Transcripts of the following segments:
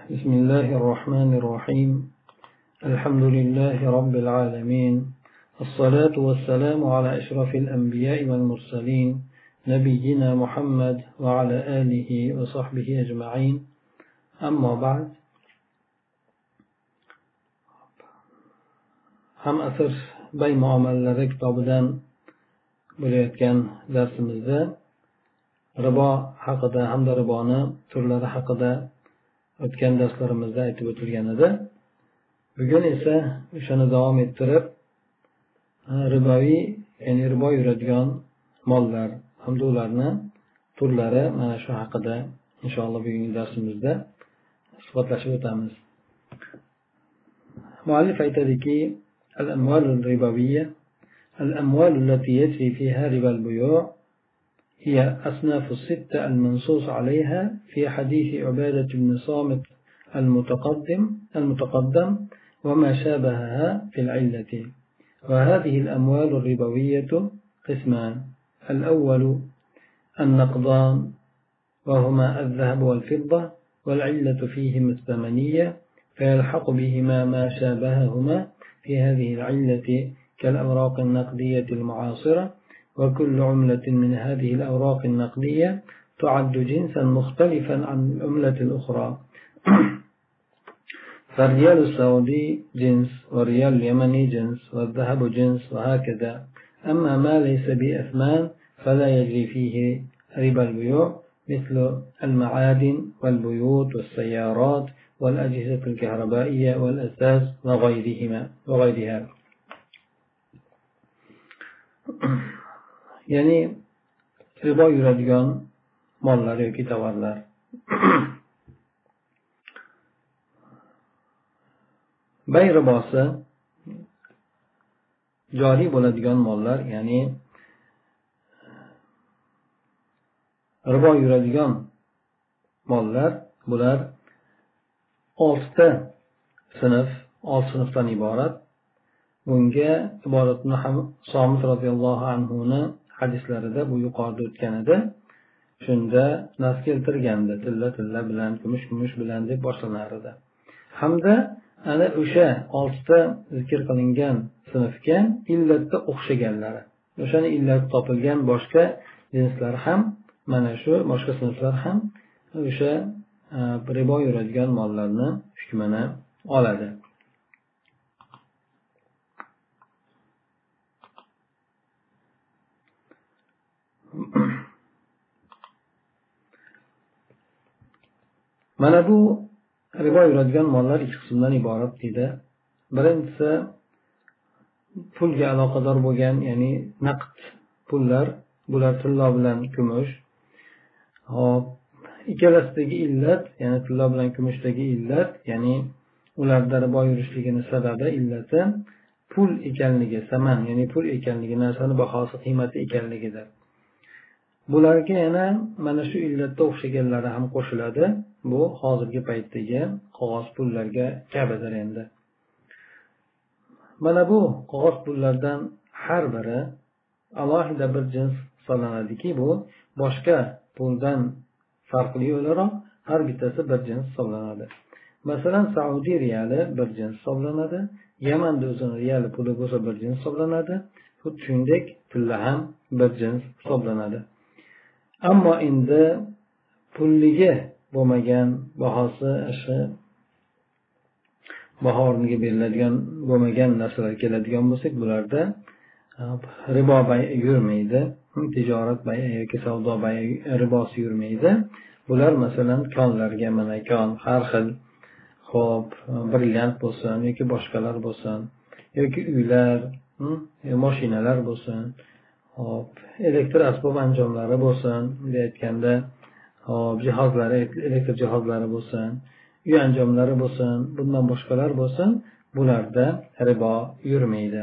بسم الله الرحمن الرحيم. الحمد لله رب العالمين، الصلاة والسلام على أشرف الأنبياء والمرسلين نبينا محمد وعلى آله وصحبه أجمعين. أما بعد، ham asr bay muomalalari kitobidan bo'layotgan darsimizda ribo haqida hamda riboni turlari haqida o'tgan darslarimizda aytib o'tilgan edi. Bugun esa o'shani davom ettirib riboviy, ya'ni ribo yuradigan mollar hamda ularni turlari mana shu haqida inshaalloh bugungi darsimizda suhbatlashib o'tamiz. Muallif aytadiki: الأموال الربوية الأموال التي يجري فيها ربا البيوع هي أصناف الستة المنصوص عليها في حديث عبادة بن صامت المتقدم وما شابهها في العلة. وهذه الأموال الربوية قسمان: الأول النقدان، وهما الذهب والفضة، والعلة فيهما الثمنية، فيلحق بهما ما شابههما في هذه العلة كالأوراق النقدية المعاصرة، وكل عملة من هذه الأوراق النقدية تعد جنسا مختلفا عن العملة الأخرى. فالريال السعودي جنس، والريال اليمني جنس، والذهب جنس، وهكذا. أما ما ليس بأثمان فلا يجري فيه ربا البيوع، مثل المعادن والبيوت والسيارات والأجهزة الكهربائية والأساس وغيرها. ya'ni ribo yuradigan mollar yoki tovarlar. Bay ribosi joriy bo'ladigan mollar, ya'ni ribo yuradigan mollar, bular 6 sinfdan iborat. Bunga iboratni ham Somit roziyallohu anhuni hadislarida bu yuqorida o'tgan edi. Shunda nas keltirgandi, tilla bilan, kumush bilan deb boshlanar edi. Hamda ana o'sha 6 zikr qilingan sinfga illatda o'xshaganlari, o'shani illat topilgan boshqa jinslar ham, mana shu boshqa sinflar ham o'sha ribo yuradigan mollarni hukmini oladi. Mana bu ribo yuradigan mollar 2 qismdan iborat deydi. Birinchisi pulga aloqador bo'lgan, ya'ni naqd pullar, bular tilla bilan kumush. Hop, ikkalasidagi illat, ya'ni tilla bilan kumushdagi illat, ya'ni ularda ribo yurishligini sababi, illati pul ekanligi, saman, ya'ni pul ekanligi, narsani bahosi, qiymati ekanligidir. Bularga yana mana shu illatga o'xshaganlari ham qo'shiladi. Bu hozirgi paytdagi qog'oz pullarga kabidir endi. Mana bu qog'oz pullardan har biri alohida bir jins hisoblanadiki, bu boshqa puldan farqli o'laroq har bittasi bir jins hisoblanadi. Masalan, Saudiya riyali bir jins hisoblanadi, Yamanda o'zining riyali puli bo'lsa bir jins hisoblanadi, xuddi shuningdek tilla ham bir jins hisoblanadi. Ammo endi pulligi bo'lmagan, bahosi shu baho o'rniga beriladigan bo'lmagan narsalar keladigan bo'lsak, bularda ribo bay yurmaydi, tijorat bay yoki savdo bay ribosi yurmaydi. Bular masalan konlarga, mana kon har xil, xo'p, brilliant bo'lsin yoki boshqalar bo'lsin, yoki uylar, mashinalar bo'lsin, hop, elektr asbob anjomlari bo'lsin, deyotganda hop, jihozlari, elektr jihozlari bo'lsin, uy anjomlari bo'lsin, bundan boshqalar bo'lsin, bularda ribo yurmaydi.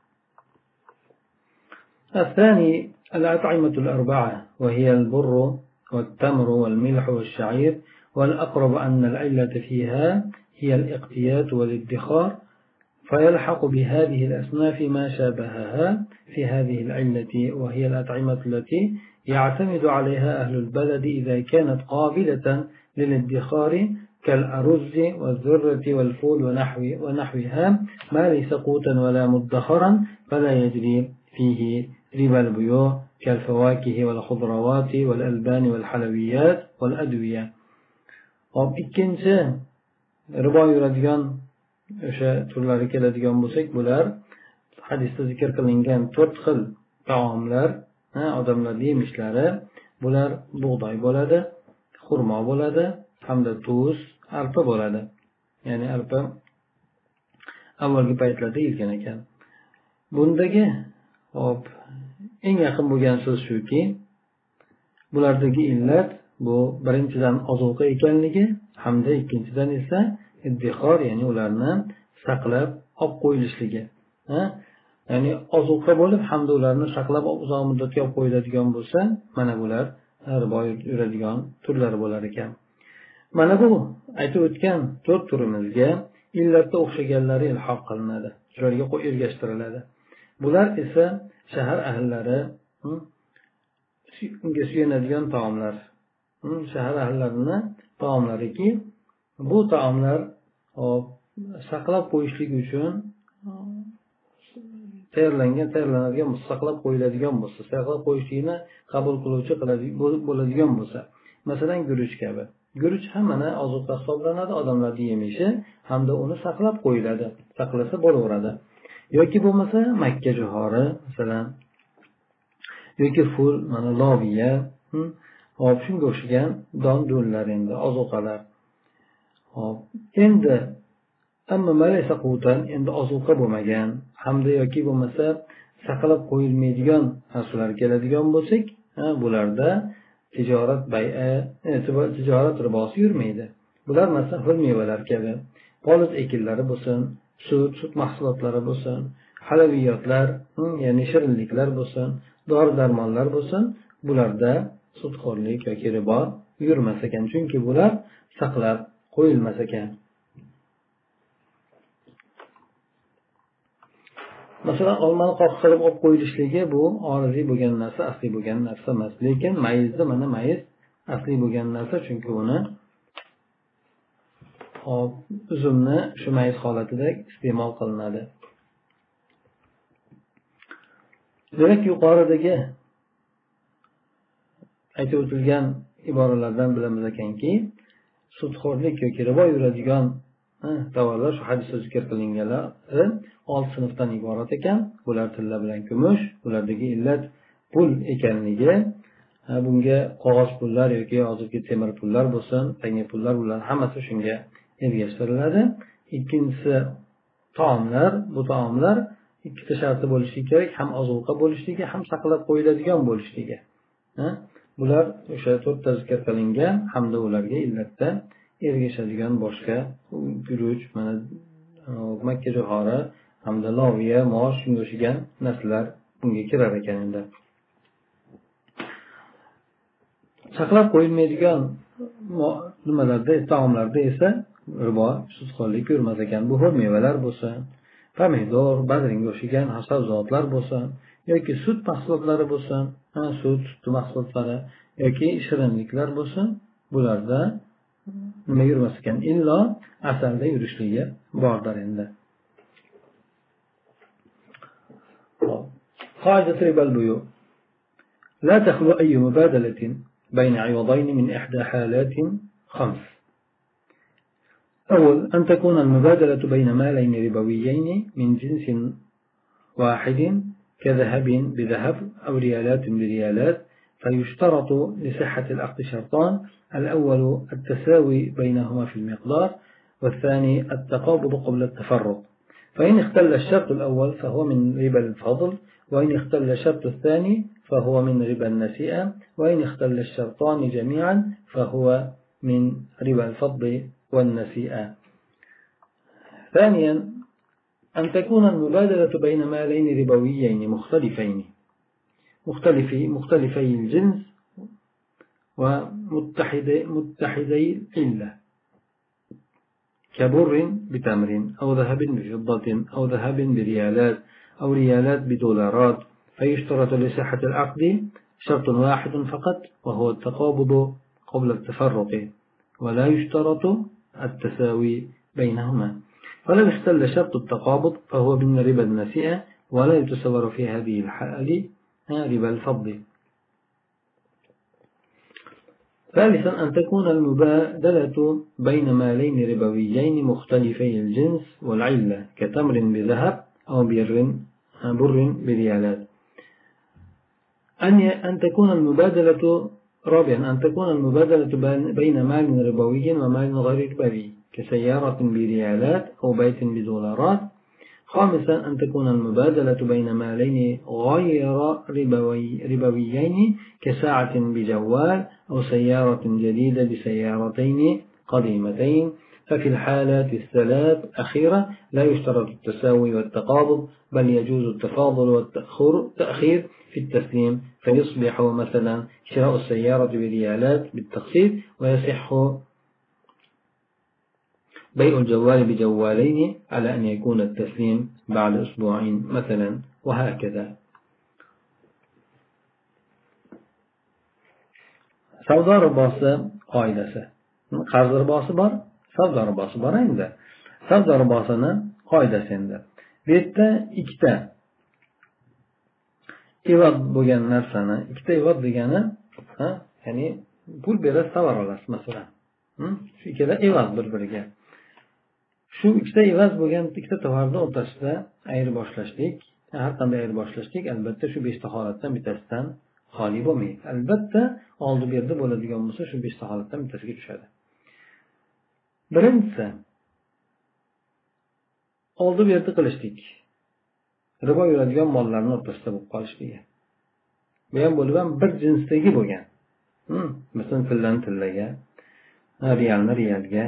الثاني الأطعمة الأربعة، وهي البر والتمر والملح والشعير، والأقرب أن العلة فيها هي الاقتيات والادخار، فيلحق بهذه الأصناف ما شابهها في هذه العلة، وهي الأطعمة التي يعتمد عليها أهل البلد إذا كانت قابلة للادخار كالأرز والذرة والفول ونحوها ما ليس قوتا ولا مدخرا فلا يجري فيه ربا البيوع كالفواكه والخضروات والألبان والحلويات والأدوية. ikkinchi ribo yuradigan o'sha turlari keladigan bo'lsak, bular hadisda zikr qilingan 4 xil taomlar, odamlarning yemishlari, bular bug'doy bo'ladi, xurmo bo'ladi, hamda tuz, arpa bo'ladi. Ya'ni arpa avvalgi paytlarda yetgan ekan. Bundagi eng yaqin bo'lgan so'z shuki, bulardagi illat bu birinchidan ozuqa ekanligi, hamda ikkinchidan esa iddixor, ya'ni ularni saqlab olib qo'yilishligi. Ya'ni ozuqa bo'lib, hamda ularni saqlab uzoq muddatga olib qo'yiladigan bo'lsa, mana bular ribo yuradigan turlari bo'lar ekan. Mana bu aytib o'tgan 4 turimizga illatda o'xshaganlari ilhoq qilinadi, shularga ergashtiriladi. Bular esa shahar ahllari unga suyanadigan taomlar. Shahar ahllarining taomlariki, bu taomlar saqlab qo'yishlik uchun tayyorlanadigan, saqlab qo'yiladigan bo'lsa, saqlab qo'yishlikni qabul qiluvchi bo'ladigan bo'lsa, masalan guruch kabi. Guruch ham mana ozuqa hisoblanadi, odamlarning yemishi, hamda uni saqlab qo'yiladi, saqlasa bo'laveradi. Yoki bo'lmasa Makka johori, masalan, yoki ful, mana loviya, shunga o'xshagan don-dunlar, endi ozuqalar. Endi amma malaysa qutan, endi ozuqa bo'lmagan, hamda yoki bo'lmasa saqlab qo'yilmaydigan narsalar keladigan bo'lsak, bularda tijorat ribosi yurmaydi. Bular masalan xil mevalar kabi, poliz ekinlari bo'lsin, sut mahsulotlari bo'lsin, halaviyotlar, ya'ni shirinliklar bo'lsin, dori-darmonlar bo'lsin, bularda sudxo'rlik yoki ribo yurmas ekan, chunki bular saqlab qo'yilmas ekan. Masalan, olmani qoq qilib olib qo'yilishligi bu oriziy bo'lgan narsa, asli bo'lgan narsa emas. Lekin mayizda mana mayiz asli bo'lgan narsa, chunki uni uzumni shu mayiz holatida iste'mol qilinadi. Demak, yuqoridagi aytib o'tilgan iboralardan bilamiz ekanki, sudxo'rlik yoki ribo yuradigan tovarlar, shu hadisda zikr qilinganlar 6 sinfdan iborat ekan. Bular tilla bilan kumush, bulardagi illat pul ekanligi, bunga qog'oz pullar yoki hozirgi temir pullar bo'lsin, tanga pullar, bular hammasi shunga ergashtiriladi. Ikkinchisi taomlar, bu taomlar ikkita sharti bo'lishi kerak, ham ozuqa bo'lishligi, ham saqlab qo'yiladigan bo'lishligi. Bular o'sha 4 ta zikr qilingan, hamda ularga illatda ergashadigan boshqa guruch, mana Makka johori, hamda loviya, mosh, shunga o'xshagan narsalar bunga kirar ekan. Endi saqlab qo'yilmaydigan nimalarda, taomlarda esa ribo, sudxo'rlik yurmas ekan. Bu xil mevalar bo'lsin, pomidor, badringga o'xshagan sabzavotlar bo'lsin, yoki sut mahsulotlari bo'lsin, sut mahsulotlari yoki shirinliklar bo'lsin, bularda nima yurmas ekan? Illo asalda yurishligi bordir endi. قاعدة ربا البيوع لا تخلو أي مبادلة بين عوضين من إحدى حالات 5. أول، أن تكون المبادلة بين مالين ربويين من جنس واحد كذهب بذهب أو ريالات بريالات، فيشترط لصحة العقد شرطان: الأول التساوي بينهما في المقدار، والثاني التقابض قبل التفرق. فإن اختل الشرط الأول فهو من ربا الفضل، وإن اختل الشرط الثاني فهو من ربا النسيئة، وإن اختل الشرطان جميعا فهو من ربا الفضل والنسيئة. ثانيا، أن تكون المبادلة بين مالين ربويين مختلفي الجنس ومتحدي العلة، كبر بتمر، أو ذهب بفضة، أو ذهب بريالات، أو ريالات بدولارات، فيشترط لصحة العقد شرط واحد فقط، وهو التقابض قبل التفرق، ولا يشترط التساوي بينهما. فلو اختل شرط التقابض فهو من ربا النسيئة ولا يتصور في هذه الحال ربا الفضل. ثالثا أن تكون المبادلة بين مالين ربويين مختلفي الجنس والعلة كتمر بذهب أو بر بريالات. أن تكون المبادلة رابعا أن تكون المبادلة بين مال ربوي ومال غير ربوي كسيارة بريالات أو بيت بدولارات. خامسا أن تكون المبادلة بين مالين غير ربويين كساعة بجوال أو سيارة جديدة بسيارتين قديمتين. ففي الحالات الثلاث الأخيرة لا يشترط التساوي والتقابض بل يجوز التفاضل والتأخير في التسليم فيصبح مثلا شراء السيارة بريالات بالتقسيط ويصح بيع الجوال بجوالين على أن يكون التسليم بعد أسبوعين مثلا وهكذا. savdo ribosi qoidasi. Qarz ribosi bor, savdo ribosi bor endi. Savdo ribosini qoidasi endi. Bu yerda ikkita evod bo'lgan narsani, ikkita evod degani, ya'ni pul berib tovar olasiz masalan. Shu ikkita evod bir-biriga. Shu ikkita evaz bo'lgan ikkita tovarni o'rtasida ayirboshlashlik, har qanday ayirboshlashlik albatta shu 5 ta holatdan bittasidan xoli bo'lmaydi. Albatta oldi berdi bo'ladigan bo'lsa shu 5 ta holatdan bittasiga tushadi. Birinchisi oldi berdi qilishlik. Ribo yuradigan mollarning o'rtasida bo'lib qolishligi. Bu ham bo'lib ham bir jinsdagi bo'lgan. Masalan tillani tillaga, realni realga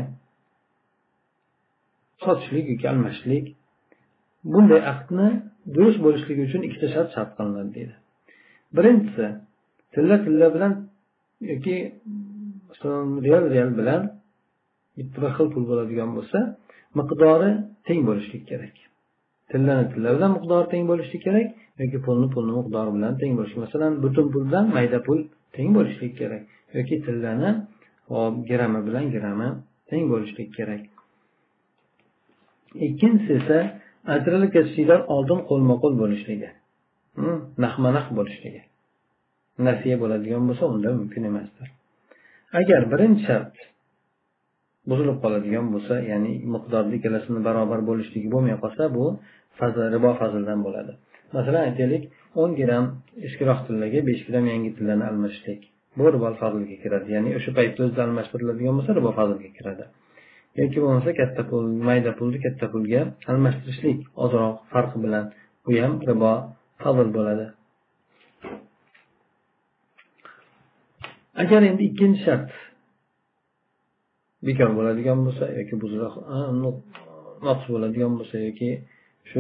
sotishlik yoki almashishlik. Bunday aqdni durust bo'lishligi uchun ikkita shart qilinadi deydi. Birinchisi tilla bilan yoki real bilan bitta xil pul bo'ladigan bo'lsa, miqdori teng bo'lishi kerak. Tillani tilla bilan miqdori teng bo'lishi kerak yoki pulni miqdori bilan teng bo'lishi. Masalan, butun puldan mayda pul teng bo'lishi kerak yoki tillani grami bilan grami teng bo'lishi kerak. Ikkinchisi esa ajralib ketishdan oldin qo'lma-qo'l bo'lishligi. Naqma-naq bo'lishligi. Nasiya bo'ladigan bo'lsa unda mumkin emasdir. Agar birinchi shart buzilib qoladigan bo'lsa, ya'ni miqdorda ikkalasini barobar bo'lishligi bo'lmay qolsa, bu ribo fazldan bo'ladi. Masalan, aytaylik, 10 gram eskiroq tillaga 5 gram yangi tillani almashishlik. Bu ribo fazlga kiradi. Ya'ni o'sha paytda o'zida almashtiriladigan bo'lsa, ribo fazlga kiradi. Yoki bo'lmasa katta pul, mayda pulni katta pulga almashtirishlik ozroq farqi bilan bu ham ribo fazl bo'ladi. Agar endi ikkinchi shart bekor bo'ladigan bo'lsa yoki noqs bo'ladigan bo'lsa yoki shu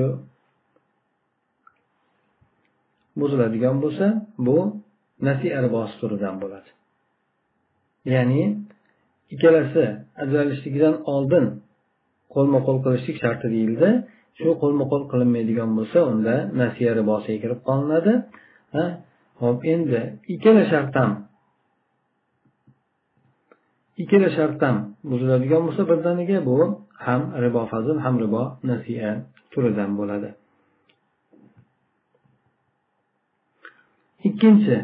buziladigan bo'lsa, bu nasiya ribosi turidan bo'ladi. Ya'ni ikkalasi ajralishligidan oldin qo'lma-qo'l qilishlik sharti deyildi. Shu qo'lma-qo'l qilinmaydigan bo'lsa, unda nasiya ribosiga kirib qolinadi. Xo'p, endi ikkala shart ham buziladigan bo'lsa birdaniga, bu ham ribo fazl ham ribo nasiya turidan bo'ladi. Ikkinchi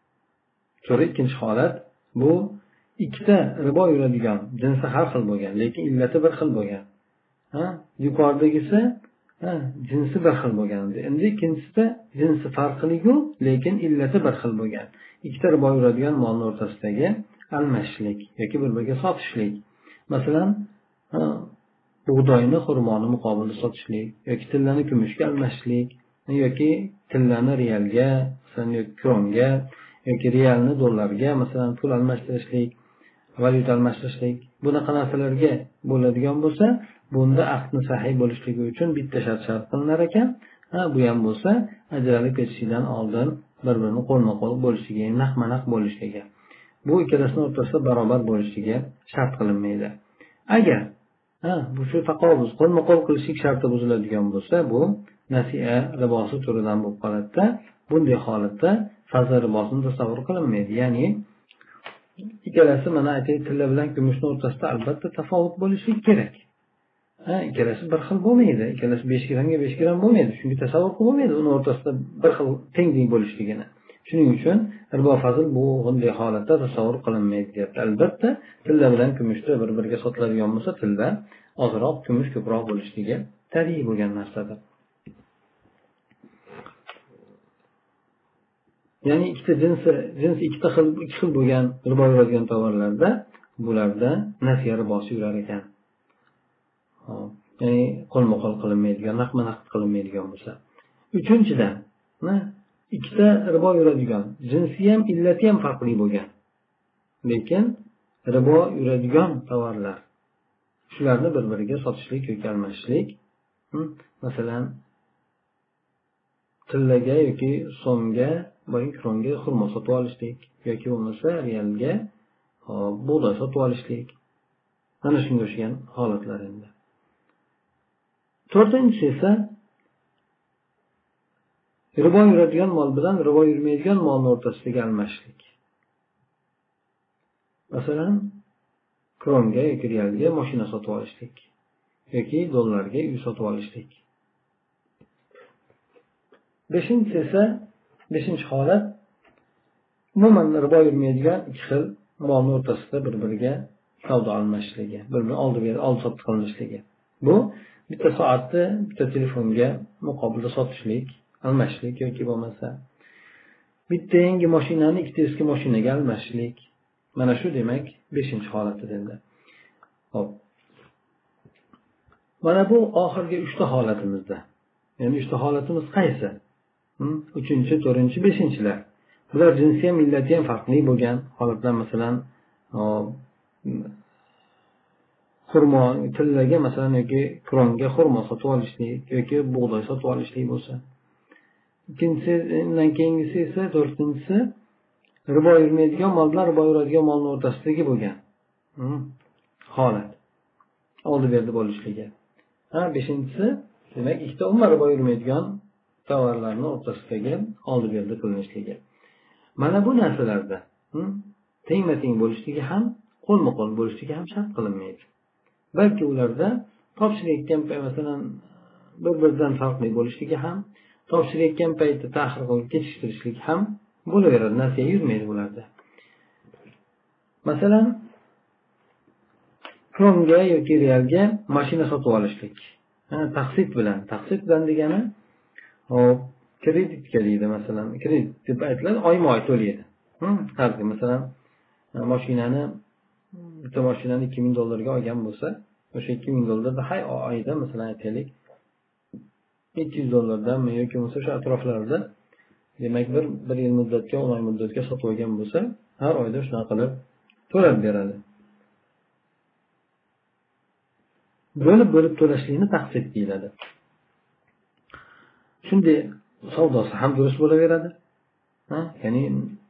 holat bu ikkita ribo yuradigan jinsi har xil bo'lgan, lekin illati bir xil bo'lgan. Yuqoridagisi jinsi bir xil bo'lgan. Endi ikkinchisida jinsi farqli-ku, lekin illati bir xil bo'lgan. Ikkita ribo yuradigan molning o'rtasidagi almashishlik yoki bir-biriga sotishlik. Masalan, bug'doyni xurmoni muqobilida sotishlik yoki tillani kumushga almashishlik yoki tillani realga, masalan, yoki kronga yoki realni dollarga, masalan, pul almashtirishlik, valyuta almashtirishlik. Bunaqa narsalarga bo'ladigan bo'lsa, bunda aqdni sahih bo'lishligi uchun bitta shart qilinar ekan. Bu ham bo'lsa, ajralib ketishidan oldin bir-birini qo'lma-qo'l bo'lishligi, naqma-naq bo'lishligi. Bu ikkalasining o'rtasida barobar bo'lishligi shart qilinmaydi. Agar bu shu taqobuz qo'lma-qo'l qilishlik sharti buziladigan bo'lsa, bu nasiya ribosi turidan bo'lib qoladi. Bunday holatda fazl ribosini tasavvur qilinmaydi. Ya'ni ikkalasi mana aytaylik tilla bilan kumushni o'rtasida albatta tafovut bo'lishi kerak. Ikkalasi bir xil bo'lmaydi. Ikkalasi 5 grammga 5 gramm bo'lmaydi. Chunki tasavvur qilib bo'lmaydi uni o'rtasida bir xil teng bo'lishligini. Shuning uchun ribo fazl bu bunday holatda tasavvur qilinmaydi deyapti. Albatta tilla bilan kumushni bir-biriga sotiladigan bo'lsa, tilla ozroq, kumush ko'proq bo'lishligi tabiiy bo'lgan narsadir. Ya'ni ikkita jinsi ikkita xil bo'lgan ribo yuradigan tovarlarda bularda nasiya ribosi yurar ekan. Ya'ni qo'lma-qo'l qilinmaydigan, naqd qilinmaydigan bo'lsa. Uchinchidan, ikkita ribo yuradigan, jinsi ham, illati ham farqli bo'lgan. Lekin ribo yuradigan tovarlar shularni bir-biriga sotishlik yoki almashishlik, masalan, tillaga yoki so'mga, kronga xurmo sotib olishlik yoki bo'lmasa realga bug'doy sotib olishlik. Mana shunga o'xshagan holatlar endi. To'rtinchisi esa ribo yuradigan mol bilan ribo yurmaydigan molni o'rtasidagi almashishlik. Masalan, kronga yoki realga mashina sotib olishlik yoki dollarga uy sotib olishlik. Beshinchi holat umuman ribo yurmaydigan ikki xil molni o'rtasida bir-biriga savdo almashishligi, bir-birini oldi-sotdi qilinishligi. Bu bitta soatni bitta telefonga muqobilda sotishlik, almashishlik yoki bo'lmasa bitta yangi mashinani ikkita eski mashinaga almashishlik. Mana shu demak 5-holatidir endi. Xo'p. Mana bu oxirgi 3ta holatimizda. Ya'ni 3ta holatimiz qaysi? 3-chi, 4-chi, 5-chilar. Bular jinsi ham, illati ham farqli bo'lgan holatlar. Masalan, xurmo tillaga masalan yoki kronga xurmo sotib olishlik yoki bug'doy sotib olishlik bo'lsa. Undan keyingisi esa 4-chi ribo yurmaydigan mol bilan ribo yuradigan molni o'rtasidagi bo'lgan holat. Oldi-berdi bo'lishligi. 5-chisi demak ikkita umuman ribo yurmaydigan tovarlarning o'rtasidagi oldi-berdi qilinishligi. Mana bu narsalarda tengma-teng bo'lishligi ham, qo'lma-qo'l bo'lishligi ham shart qilinmaydi. Balki ularda topshirayotgan payt masalan bir-biridan farqli bo'lishligi ham, topshirayotgan paytda ta'xir qilib kechiktirishlik ham bo'laveradi. Nasiya yurmaydi ularda. Masalan, kronga yoki realga mashina sotib olishlik. Taqsid bilan degani kreditga deydi masalan. Kredit deb aytiladi, oyma-oy to'laydi. Har kuni masalan bitta mashinani $2000 olgan bo'lsa, o'sha $2000 har oyda masalan aytaylik $200 yoki bo'lmasa o'sha atroflarda demak bir yil muddatga, 10 oy muddatga sotib olgan bo'lsa, har oyda shunaqa qilib to'lab beradi. Bo'lib to'lashlikni taqsid deyiladi. Shunday savdosi ham durust bo'laveradi. Ya'ni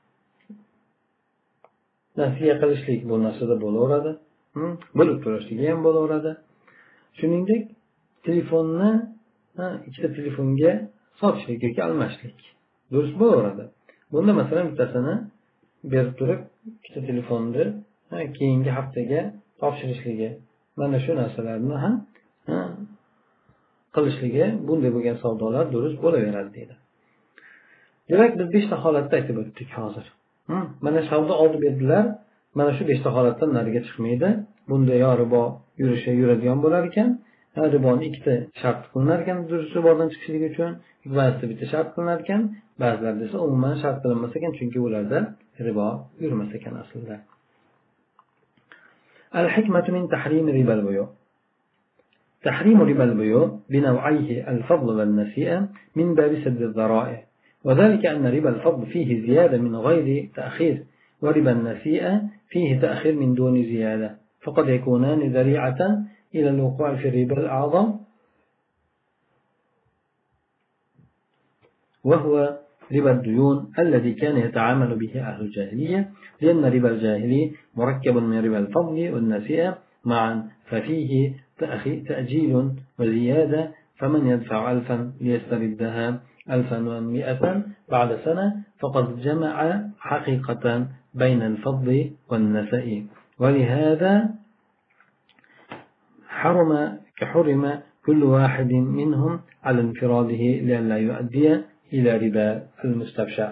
nasiya qilishlik bu narsada bo'laveradi. Bo'lib to'lashligi ham bo'laveradi. Shuningdek, telefonni ikkita telefonga sotishlik yoki almashishlik durust bo'laveradi. Bunda masalan bittasini berib turib, ikkita telefonni keyingi haftaga topshirishligi, mana shu narsalarni ham qilishligi, bunday bo'lgan savdolar durust bo'laveradi deydi. Demak, biz 5 ta holatda aytib o'tdik hozir. Mana savdo oldi berdilar, mana shu 5 ta holatdan nariga chiqmaydi. Bunda yo ribo yuradigan bo'lar ekan, riboni ikkita shart qilinar ekan, durust ribodan chiqishligi uchun, ba'zida bitta shart qilinar ekan, ba'zilarda esa umuman shart qilinmas ekan, chunki ularda ribo yurmas ekan aslida. Al-hikmatu min tahrim riba al-buyu'. تحريم ربا البيوع بنوعيه الفضل والنسيئة من باب سد الذرائع، وذلك أن ربا الفضل فيه زيادة من غير تأخير، وربا النسيئة فيه تأخير من دون زيادة، فقد يكونان ذريعة إلى الوقوع في الربا الأعظم، وهو ربا الديون الذي كان يتعامل به أهل الجاهلية، لأن ربا الجاهلي مركب من ربا الفضل والنسيئة معا، ففيه تأجيل وزيادة، فمن يدفع 1000 ليستردها 1100 بعد سنة فقد جمع حقيقة بين الفضل والنسأ ولهذا حرم كل واحد منهم على انفراده لئلا يؤدي إلى ربا المستبشع.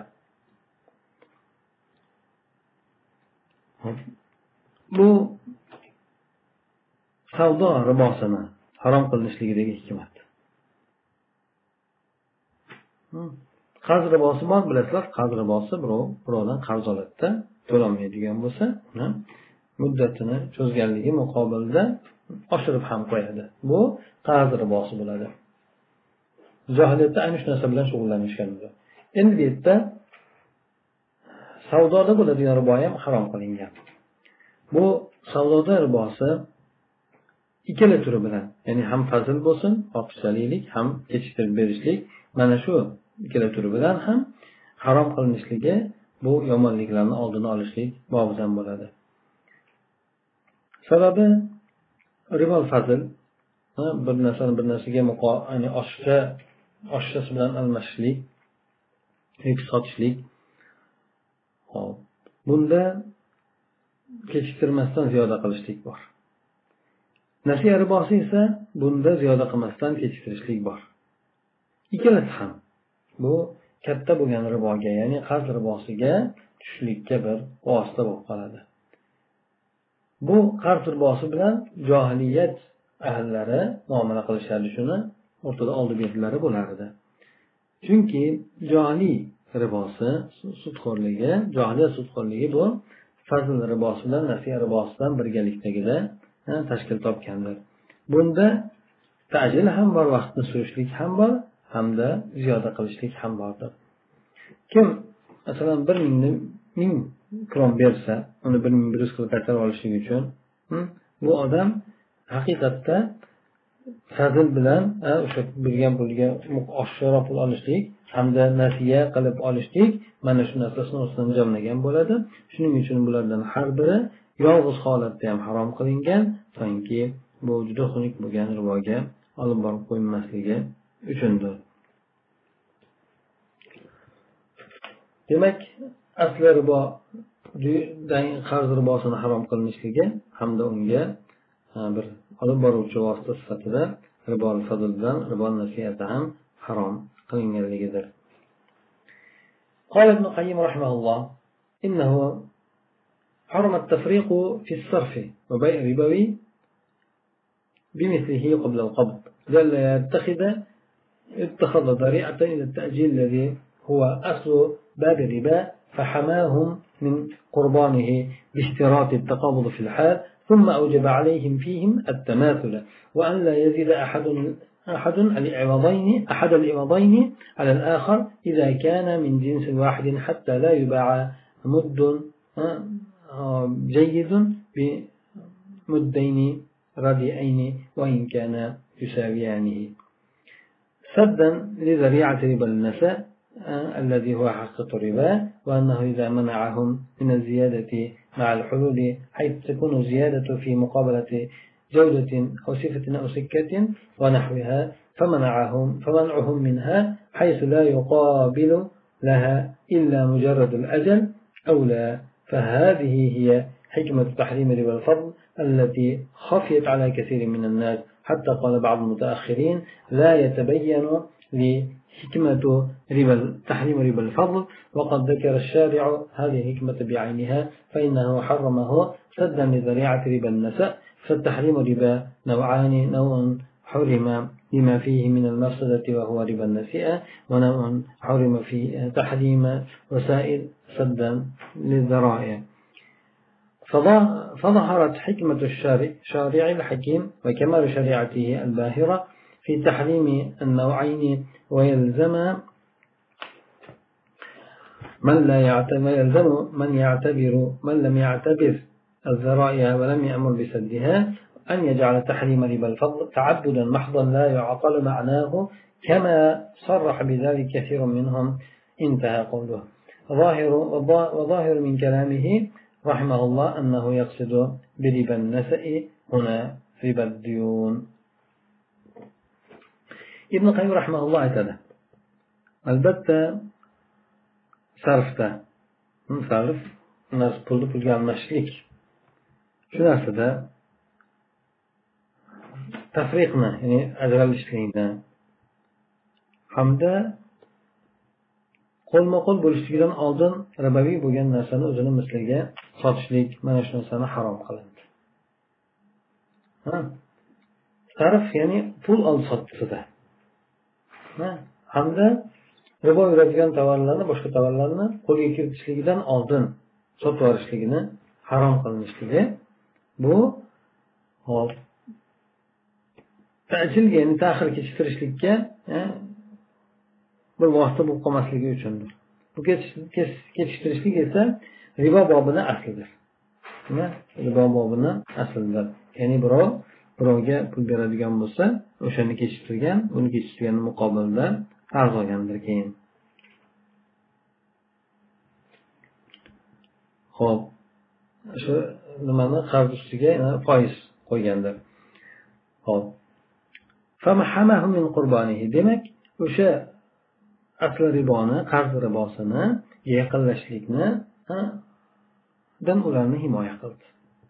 Bu savdo ribosini harom qilinishligidagi hikmat. Qarz ribosi bor, bilasizlar, qarz ribosi birovdan qarz oladida to'lamaydigan bo'lsa, muddatini cho'zganligi muqobilda oshirib ham qo'yadi. Bu qarz ribosi bo'ladi. Jahiliyatda ayni shu narsa bilan shug'ullanishgan. Endi bu yerda savdoda bo'ladigan ribo ham harom qilingan. Bu savdoda ribosi ikkala turi bilan, ya'ni ham fazl bo'lsin, ortiqchalik, ham kechiktirib berishlik, mana shu ikkala turi bilan ham harom qilinishligi bu yomonliklarni oldini olishlik bobidan bo'ladi. Sababi ribo fazl bir narsani bir narsaga ya'ni oshchasi bilan almashishlik yoki sotishlik. Hop. Bunda kechiktirmasdan ziyoda qilishlik bor. Nasiya ribosi esa bunda ziyoda qilmasdan kechiktirishlik bor. Ikkalasi ham bu katta bo'lgan riboga, ya'ni qarz ribosiga tushishlikka bir vosita bo'lib qoladi. Bu qarz ribosi bilan johiliyat ahllari muomala qilishardi, shuni o'rtada oldi berilari bo'lardi. Chunki johiliy ribosi, johiliyat sudxo'rligi bu fazl ribosi bilan nasiya ribosidan birgalikdagida tashkil topgandir. Bunda ta'jil ham bor, vaqtni surishlik ham bor, hamda ziyoda qilishlik ham bordir. Kim masalan 1000 kron bersa, uni 1100 qilib qaytarib olishlik uchun bu odam haqiqatda fazl bilan o'sha bergan pulga oshiqroq pul olishlik hamda nasiya qilib olishlik mana shu narsasini o'zidan jamlagan bo'ladi. Shuning uchun bulardan har biri yolg'iz holatda ham harom qilingan, toki bu juda xunuk bo'lgan riboga olib borib qo'ymasligi uchundir. Demak, asli ribo qarz ribosini harom qilinishligi hamda unga bir olib boruvchi vosita sifatida ribo fazldan ribo nasiyati ham harom qilinganligidir. قال ابن القيم رحمه الله إنه حرم التفريق في الصرف وبيع الربوي بمثله قبل القبض لئلا اتخذ ذريعة إلى التأجيل الذي هو أصل باب الربا فحماهم من قربانه باشتراط التقابض في الحال ثم أوجب عليهم فيهم التماثل وأن لا يزيد أحد العوضين على الآخر إذا كان من جنس واحد حتى لا يباع مد جيد بمدين رديئين وإن كان يساويانه سدا لذريعة ربا النساء الذي هو حقيقة الربا وأنه إذا منعهم من الزيادة مع الحلول حيث تكون الزيادة في مقابلة جودة أو صفة أو سكة ونحوها فمنعهم منها حيث لا يقابل لها إلا مجرد الأجل أولى فهذه هي حكمة تحريم ربا الفضل التي خفيت على كثير من الناس حتى قال بعض المتأخرين لا يتبين لحكمة تحريم ربا الفضل وقد ذكر الشارع هذه الحكمة بعينها فإنه حرمه سدا لذريعة ربا النساء فالتحريم ربا نوعان نوع حرم لما فيه من المفسدة وهو ربا النسيئة ونوع حرم فيه تحريم وسائل سدا للذرائع فظهرت حكمة الشارع الحكيم وكمال شريعته الباهرة في تحريم النوعين ويلزم من لم يعتبر الذرائع ولم يأمر بسدها أن يجعل تحريم ربا الفضل تعبدا محضا لا يعقل معناه كما صرح بذلك كثير منهم انتهى قوله وظاهر من كلامه رحمه الله أنه يقصد بربا النسأ هنا ربا الديون. ابن القيم رحمه الله aytadi albatta sarfda sarf pulni pulga almashishlik shu narsada tafriqni ya'ni ajralishlikni hamda qo'lma qo'l bo'lishligidan oldin riboviy bo'lgan narsani o'zini misliga sotishlik mana shu narsani harom qilindi. Sarf ya'ni pul oldi sotdisida hamda ribo yuradigan tovarlarni boshqa tovarlarni qo'lga kiritishligidan oldin sotib yuborishligini harom qilinishligi bu ta'jilga ya'ni ta'xir kechiktirishlikka bir vosita bo'lib qolmasligi uchundir. Bu kechiktirishlik esa ribo bobini aslidir. Ribo bobini aslidir. Ya'ni birovga pul beradigan bo'lsa, o'shani kechiktirgan, uni kechiktirganning muqobilida qarz olgandir keyin. Xo'p, shu nimani qarz ustiga foiz qo'ygandir. Xo'p. Famahamahu min qurbanihi. Demak, o'sha asli riboni, qarz ribosini yaqinlashlikni dan ularni himoya qildi.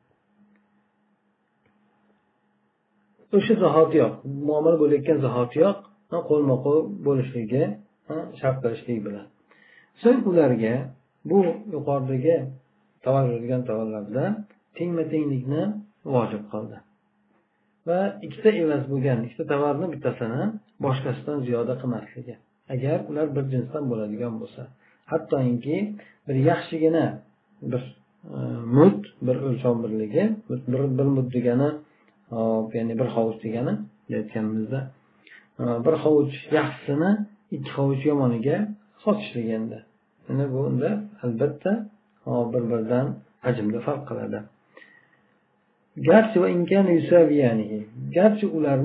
O'sha zahotiyoq, muomala bo'layotgan zahotiyoq qo'lma-qo'l bo'lishligi shart qilishlik bilan. So'ng ularga bu yuqoridagi tovarlangan tovarlarda tengma-tenglikni vojib qildi. Va ikkita evaz bo'lgan, ikkita tovarni bittasini boshqasidan ziyoda qilmasligi. Agar ular bir jinsdan bo'ladigan bo'lsa, hattoki bir yaxshigina bir mud, bir o'lchov birligi, bir mud degani, ya'ni bir hovuch degani, aytganimizda, bir hovuch yaxshisini ikki hovuch yomoniga sotishliganda. Mana bu unda albatta bir-biridan hajmda farq qiladi. Garchi va imkon yusaviyanihi. Garchi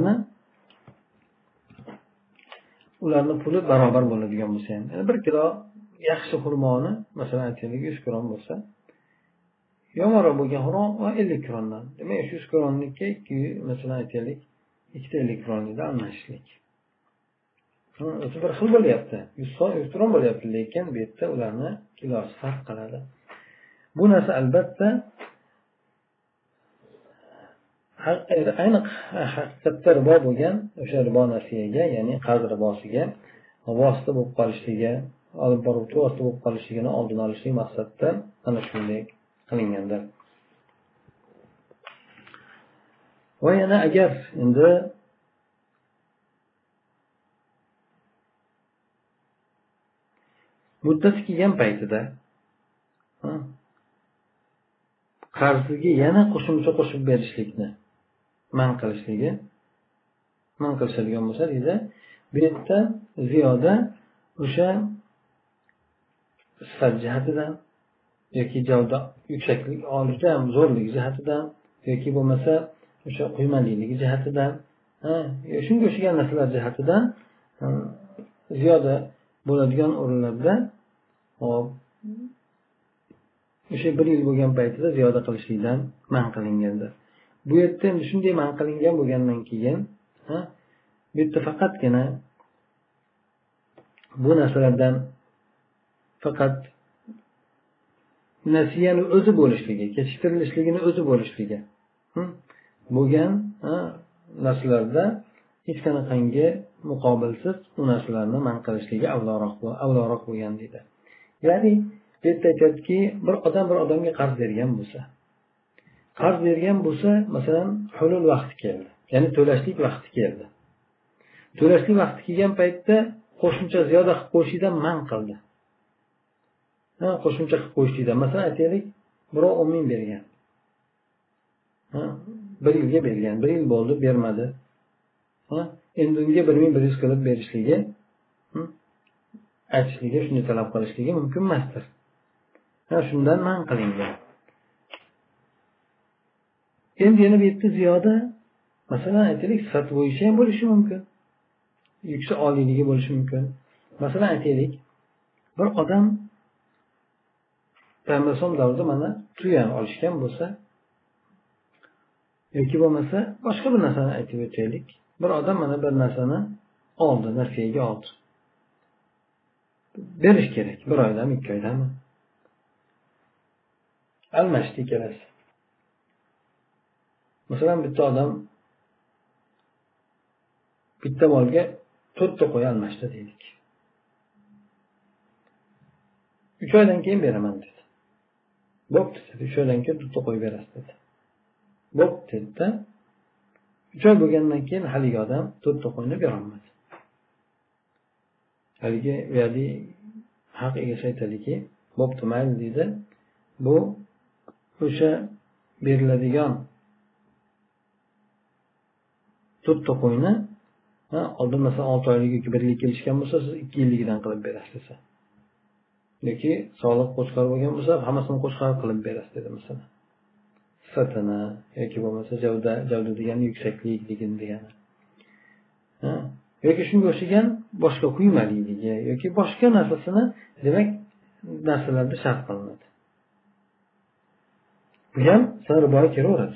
ularni puli barobar bo'ladigan bo'lsa ham. Yani 1 kilo yaxshi xurmoni, masalan aytaylik 100 kron bo'lsa, yomonroq bo'lgan xurmo 50 krondan. Demak, 100 kronlikka 2, masalan aytaylik, 250 kronlikda almashishlik. O'zi bir xil bo'lyapti. 100 kron bo'lyapti, lekin bu yerda ularni kilosi farq qiladi. Bu narsa albatta ayniq haqiqatda ribo bo'lgan o'sha ribo nasiyaga, ya'ni qarz ribosiga vosita bo'lib qolishligi, olib boruvchi vosita bo'lib qolishligini oldini olishlik maqsadida ana shunday qilingandir. Va yana agar endi muddati kelgan paytida qarziga yana qo'shimcha qo'shib berishlikni man qilishadigan bo'lsa, deydi, bu yerda ziyoda o'sha sifat jihatidan yoki javda yuksaklik, olishda ham zo'rlik jihatidan yoki bo'lmasa o'sha quymaliligi jihatidan, shunga o'xshagan narsalar jihatidan ziyoda bo'ladigan o'rinlarda o'sha 1 yil bo'lgan paytida ziyoda qilishlikdan man qilingandir. Bu yerda endi shunday man qilingan bo'lgandan keyin bu yerda faqatgina bu narsalardan faqat nasiyani o'zi bo'lishligi, kechiktirilishligini o'zi bo'lishligi bo'lgan narsalarda hech qanaqangi muqobilsiz u narsalarni man qilishligi avvalroq bo'lgan deydi. Ya'ni bu yerda aytadiki, bir odamga qarz bergan bo'lsa, masalan, hulul vaqti keldi. Ya'ni to'lashlik vaqti keldi. To'lashlik vaqti kelgan paytda qo'shimcha ziyoda qilib qo'yishdan man qildi. Qo'shimcha qilib qo'yishdan. Masalan, aytaylik, birov 10 ming bergan. 1 yilga bergan. 1 yil bo'ldi, bermadi. Endi unga 1100 qilib berishligi, aytishligi, shuni talab qilishligi mumkin emasdir. Shundan man qilingan. Endi yana bu yerda ziyoda, masalan aytaylik, sifat bo'yicha ham bo'lishi mumkin. Yuksak oliyligi bo'lishi mumkin. Masalan aytaylik, bir odam Payg'ambar davrida mana tuyan olishgan bo'lsa, yoki bo'lmasa boshqa bir narsani aytib o'taylik. Bir odam mana bir narsani oldi, nasiyaga oldi. berish kerak. 1 oydami, 2 oydami? Almashdi ikkalasi. Masalan, bitta odam bitta molga 4 ta qo'y almashdi deylik. 3 oydan keyin beraman dedi. Bo'pti dedi. 3 oydan keyin 4 ta qo'y berasiz dedi. Bo'pti dedi. 3 oy bo'lgandan keyin haligi odam 4 ta qo'yni bera olmadi. Haligi haq egasi aytadiki, bo'pti mayli deydi. Bu o'sha beriladigan 4 ta qo'yni oldin masalan 6 oylik yoki 1 yillik kelishgan bo'lsa, siz 2 yilligidan qilib berasiz. Yoki soliq qo'shqar bo'lgan bo'lsa, hammasini qo'shqar qilib berasiz dedi masalan. Sifatini yoki bo'lmasa javda degani yuksakligini degani. Yoki shunga o'xshagan boshqa quymaligi yoki boshqa narsasini, demak, narsalarda shart qilinadi. Bu ham riboga kiraveradi.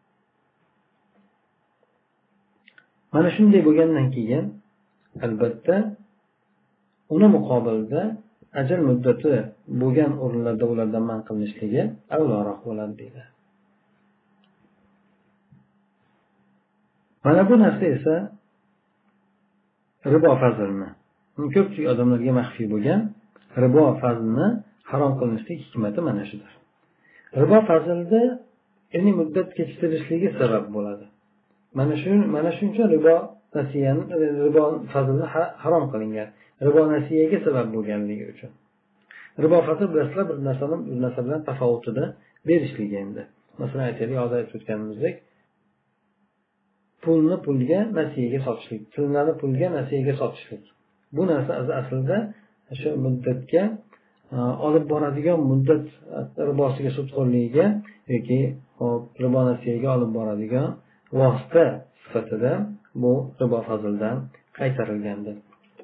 Mana shunday bo'lgandan keyin albatta uni muqobilda ajal muddati bo'lgan o'rinlarda ulardan man qilinishligi avvalroq bo'ladi deydi. Mana bu narsa esa ribo fazlini, ko'pchilik odamlarga maxfiy bo'lgan ribo fazlini harom qilinishlik hikmati mana shudir. Ribo fazlida ya'ni muddat kechiktirishligi sabab bo'ladi. Mana shuning uchun ribo fazlini harom qilingan. Ribo nasiyaga sabab bo'lganligi uchun. Ribo fazl bilasizlar, bir narsa bilan tafovutida berishligi endi. Masalan, aytaylik, hozir aytib o'tganimizdek, pulni pulga nasiyaga sotishlik, pulni pulga nasiyaga sotishlik. Bu narsa aslida o'sha muddatga olib boradigan muddat ribosiga sudxo'rligiga yoki ribo nasiyaga olib boradigan vosita sifatida bu ribo fazldan qaytarilgandir.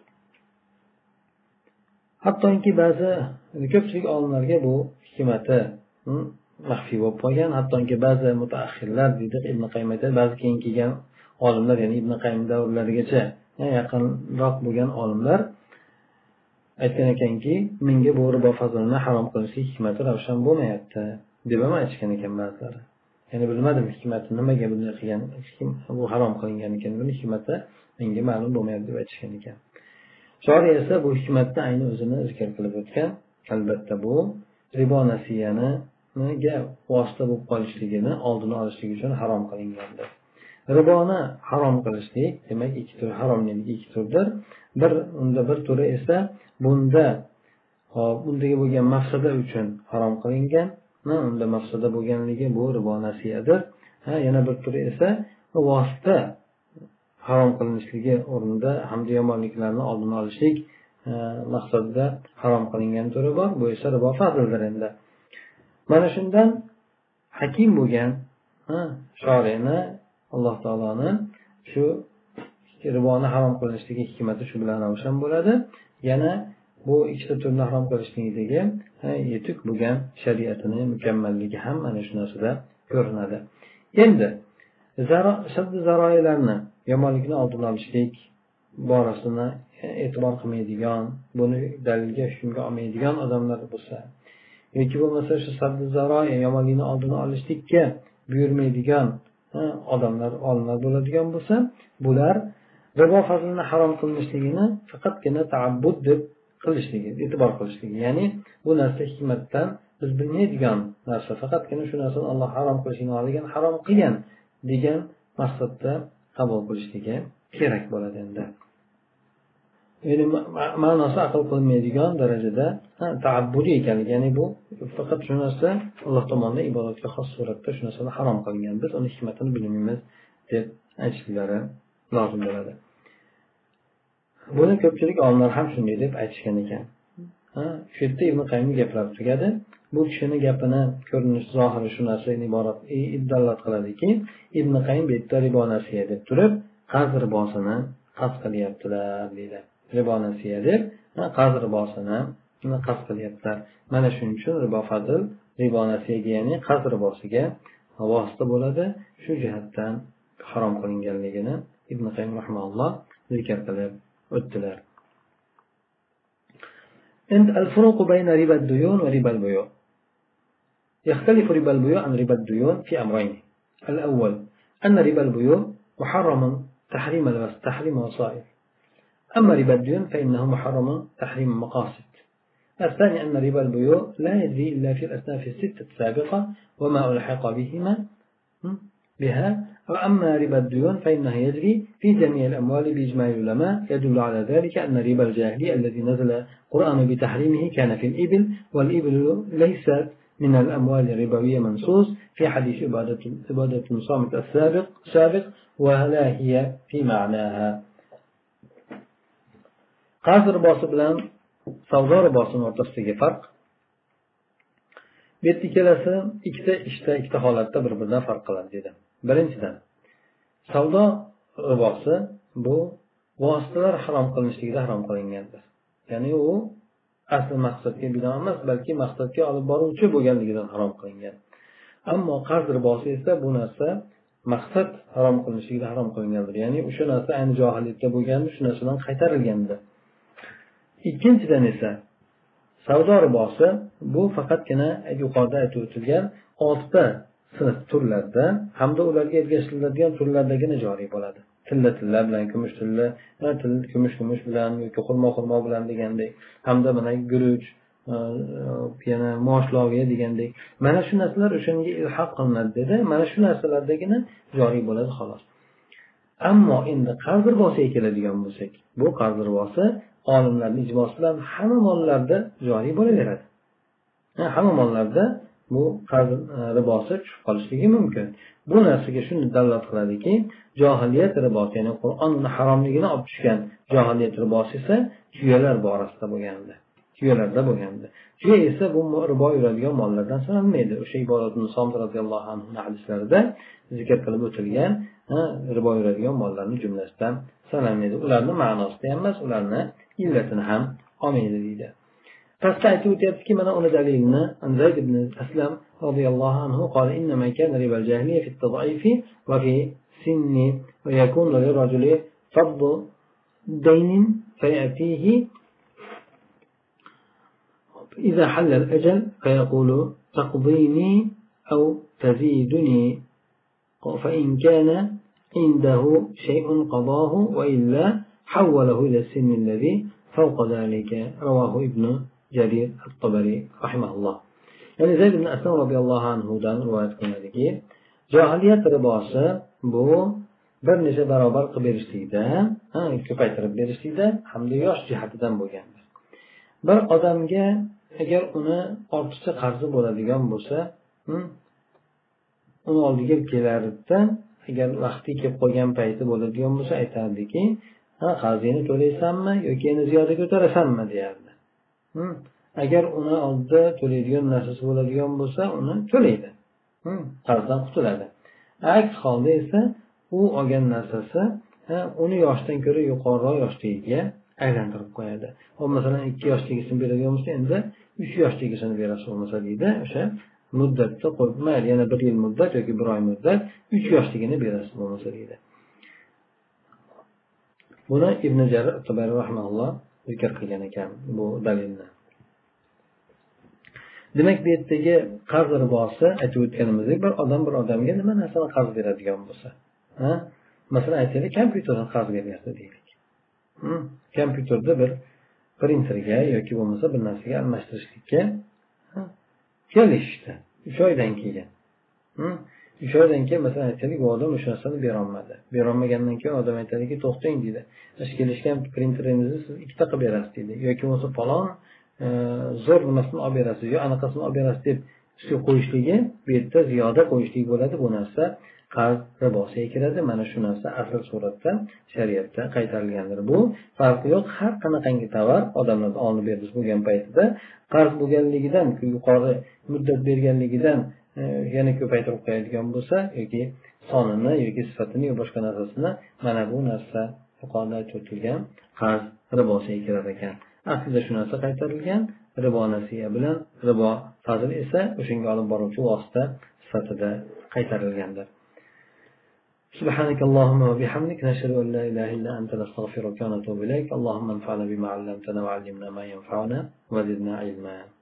Hattoki ba'zi ko'pchilik olimlarga bu hikmati maxfiy bo'lib qolgan. Hattoki ba'zi mutaaxirlar deydi, Ibn Qayyim aytadi, ba'zi keyin kelgan olimlar, ya'ni Ibn Qayyim davrlarigacha yaqinroq bo'lgan olimlar aytgan ekanki, menga bu ribo fazlini harom qilishlik hikmati ravshan bo'lmayapti deb ham aytishgan ekan ba'zilari. Ya'ni bilmadim hikmati nimaga bunday qilgan, bu harom qilingan ekan, buni hikmati menga ma'lum bo'lmayapti deb aytishgan ekan. Shoriy esa bu hikmatni ayni o'zini zikr qilib o'tgan. Albatta bu ribo nasiyaniga vosita bo'lib qolishligini oldini olishlik uchun harom qilingandir. Riboni harom qilishlik, demak, ikki tur haromlik ikki turdir. Bir turi esa bundagi bo'lgan mafsada uchun harom qilingan. Unda mafsada bo'lganligi bu ribo nasiyadir. Yana bir turi esa vosita harom qilinishligi o'rnida hamda yomonliklarni oldini olishlik maqsadida harom qilingan turi bor. Bu esa ribo fazldir endi. Mana shundan hakim bo'lgan shoriyni, Alloh taoloni shu riboni harom qilinishligi hikmati shu bilan ravshan bo'ladi. Yana bu ikkita turni harom qilishlikdagi yetuk bo'lgan shariatini mukammalligi ham mana shu narsada ko'rinadi. Endi zaroilarni, yomonlikni oldini olishlik borasini e'tibor qilmaydigan, buni dalilga hukmga olmaydigan odamlar bo'lsa, yoki bo'lmasa shu sabzi zaroy yomonlikni oldini olishlikka buyurmaydigan odamlar, olimlar bo'ladigan bo'lsa, bular ribo fazlini harom qilinishligini faqatgina ta'abbud deb qilishligi, e'tibor qilishligi, ya'ni bu narsa hikmatdan biz bilmaydigan narsa, faqatgina shu narsani Alloh harom qilishini olgan, harom qilgan degan maqsadda qabul qilishligi kerak bo'ladi endi. Ya'ni ma'nosi aql qilmaydigan darajada ta'abbudiy ekanligi, ya'ni bu faqat shu narsa Alloh tomonidan ibodatga xos suratda shu narsani harom qilingan, biz uni hikmatini bilmaymiz deb aytishlari lozim bo'ladi. Buni ko'pchilik olimlar ham shunday deb aytishgan ekan. Shu yerda Ibn Qayyimning gaplari tugadi. Bu kishini gapini ko'rinish zohiri shu narsadan iborat dalolat qiladiki, Ibn Qayyim bu yerda ribo nasiya deb turib, qarz ribosini qasd qilyaptilar deydi. Ribo nasiya deb qarz ribosini qasd qilyaptilar. Mana shuning uchun ribo fazl ribo nasiyaga, ya'ni qarz ribosiga vosita bo'ladi. Shu jihatdan harom qilinganligini Ibn Qayyim rahimahulloh zikr qilib o'tdilar. الفروق بين ربا الديون وربا البيوع. يختلف ربا البيوع عن ربا الديون في أمرين. الأول أن ربا البيوع محرم تحريم وسائل، أما ربا الديون فإنه محرم تحريم مقاصد. الثاني أن ربا البيوع لا يجري إلا في الأصناف الستة السابقة وما ألحق بها، وأما ربا الديون فإنه يجري في جميع الأموال بإجماع العلماء. يدل على ذلك أن ربا الجاهلية الذي نزل القرآن بتحريمه كان في الإبل، والإبل ليست من الأموال الربوية منصوص في حديث عبادة الصامت السابق، ولا هي في معناها. qarz ribosi bilan savdo ribosining o'rtasidagi farq. Bu yerda ikkalasi ikkita holatda bir-biridan farq qiladi dedi. Birinchidan, savdo ribosi bu vositalar harom qilinishligida harom qilingandir. Ya'ni u asl maqsadga binoan emas, balki maqsadga olib boruvchi bo'lganligidan harom qilingan. Ammo qarz ribosi esa bu narsa maqsad harom qilinishligida harom qilingandir. Ya'ni o'sha narsa ayni johiliyatda bo'lganda shu narsadan qaytarilgandir. Ikkinchidan esa savdo ribosi bu faqatgina yuqorida aytib o'tilgan 6 sinf turlarda hamda ularga ergashtiriladigan turlardagina joriy bo'ladi. Tilla bilan, kumush bilan yoki xurmo bilan degandek, hamda mana guruch, yana moshloviya degandek, mana shu narsalar o'shanga ilhaq qilinadi dedi. Mana shu narsalardagina joriy bo'ladi xolos. Ammo endi qarz ribosiga keladigan bo'lsak, bu qarz ribosi olimlarning ijmosi bilan hamma mollarda joriy bo'laveradi. Hamma mollarda bu qarz ribosi tushib qolishligi mumkin. Bu narsaga shuni dalolat qiladiki, johiliyat ribosi, ya'ni Qur'on uni haromligini olib tushgan johiliyat ribosi esa tuyalar borasida bo'lgandi. Tuyalarda bo'lgandi. Tuya esa bu ribo yuradigan mollardan sanalmaydi. O'sha Ibodatun Somit radhiyallohu anhu hadislarida zikr qilib o'tilgan ribo yuradigan mollarning jumlasidan sanalmaydi. Ularning ma'nosida ham emas, ularni illatini ham olmaydi deydi. Pastda aytib o'tyaptiki, mana uni dalilini Zayd ibn Aslam radhiyallohu anhu qala innama kana ribal jahiliya fi at-tad'if wa fi sinni wa yakunu lirajuli fadl dayn fayatihi إذا حل الأجل فيقول تقضيني أو تزيدني، فإن كان عنده شيء قضاه وإلا حوله إلى السن الذي فوق ذلك. رواه ابن جرير الطبري رحمه الله. يعني زيد بن أسلم رضي الله عنه دان رواية qilinadiki, johiliyat ribosi bu bir necha barobar qilib berishlikda, ko'paytirib berishlikda hamda yosh jihatidan bo'lgandir. Bir odamga agar uni ortiqcha qarzi bo'ladigan bo'lsa, uni oldiga kelarida, agar vaqti kelib qolgan payti bo'ladigan bo'lsa, aytardiki, qarzingni to'laysanmi yoki yana ziyoda ko'tarasanmi deyardi. Agar uni oldida to'laydigan narsasi bo'ladigan bo'lsa, uni to'laydi. Qarzdan qutuladi. Aks holda esa u olgan narsasi uni yoshdan ko'ra yuqoriroq yoshligiga aylantirib qo'yadi. O masalan 2 yoshligisini beradigan bo'lsa, endi 3 yoshligisini berasi bo'lmasa deydi, o'sha muddatda qo'yib, mayli yana 1 yil muddat yoki 1 oy muddat 3 yoshligini berasi bo'lmasa deydi. Buni Ibn Jarir at-Tabari rahimahulloh zikr qilgan ekan bu dalilni. Demak, bu yerdagi qarz ribosi aytib o'tganimizdek, bir odamga nima narsani qarz beradigan bo'lsa, masalan aytaylik, kompyuterni qarz beryapti deylik. Kompyuterda bir printerga yoki bo'lmasa bir narsaga almashtirishlikka kelishdi. 3 oydan keyin. 3 oydan keyin masalan aytaylik, bu odam o'sha narsani berolmadi. Berolmagandan keyin odam aytadiki, to'xtang deydi. Siz kelishgan printeringizni siz 2 ta qilib berasiz deydi. Yoki bo'lmasa falon zo'r nimasini olib berasiz, yo anaqasini olib berasiz deb ustiga qo'yishligi, bu yerda ziyoda qo'yishlik bo'ladi. Bu narsa qarz ribosiga kiradi. Mana shu narsa asl suratda shariatda qaytarilgandir. Bu farqi yo'q. Har qanaqangi tovar odamlar olib berish bo'lgan paytida qarz bo'lganligidan, yuqori muddat berganligidan yana ko'paytirib qo'yadigan bo'lsa yoki sonini yoki sifatini yoki boshqa narsasini, mana bu narsa yuqorida aytib o'tilgan qarz ribosiga kirar ekan. Aslida shu narsa qaytarilgan, ribo nasiya bilan ribo fazl esa o'shanga olib boruvchi vosita sifatida qaytarilgandir. سبحانك اللهم وبحمدك نشهد أن لا إله إلا أنت نستغفرك ونتوب إليك اللهم انفعنا بما علمتنا وعلمنا ما ينفعنا وزدنا علما